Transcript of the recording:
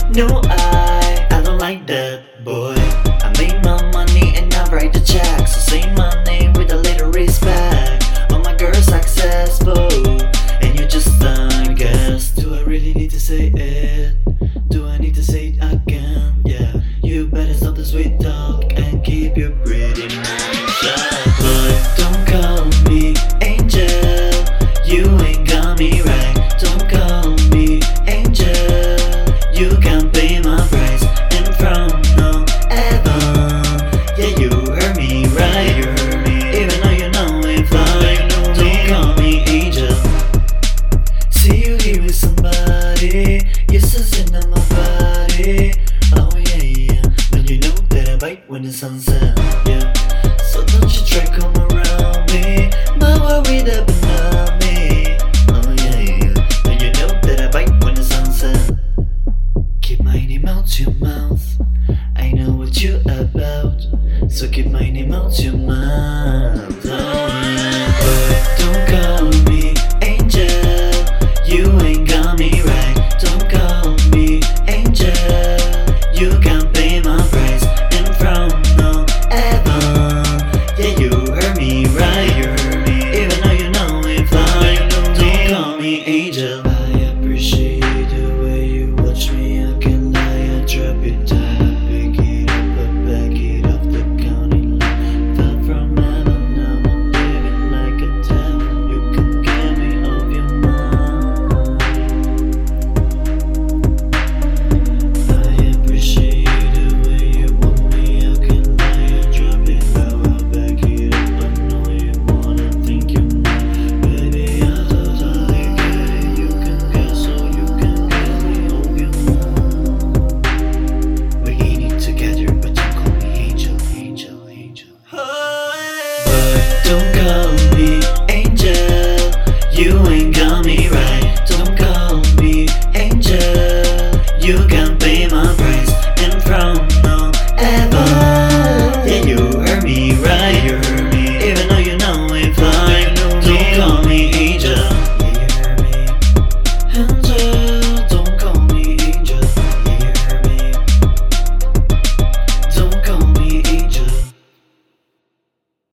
No, I don't like that, boy. I made my money and I write the check, so say my name with a little respect. All my girls successful, and you're just a guest. Do I really need to say it? Do I need to say it again? Yeah, you better stop the sweet talk and keep your pretty mouth shut. Boy, don't call me angel, you ain't got me right. Don't call me angel, you can't pay my price. And from no ever, yeah, you heard me right. You heard me, even though you know it fly. Don't call me angel. See you here with somebody, you're so in on my body. Oh yeah, yeah, but you know that I bite when the sun sets, yeah. So don't you try come around me, not worried about me. Oh yeah, yeah, but you know that I bite when the sun sets. Keep my name out your mouth, I know what you're about, so keep my name out your mouth. Oh yeah, but don't call me angel, you ain't got me right. Don't call me angel, you can't pay my price. And from no ever, yeah, you heard me right. You heard me, even though you know it fly. Don't call me angel. I appreciate the way you watch me. I can lie, I drop it down, I pick it up, I back it off the counting line. Fell from heaven, now I'm living like a devil. You can get me off your mind. I appreciate the way you want me. I can lie, I drop it down, I back it up. I know you wanna think you might, baby, I totally get it. You can guess, so you can get me off your mind. We're in it together, but don't call me angel, angel, angel. But don't call me angel, you ain't got me right. Don't call me angel, you can't pay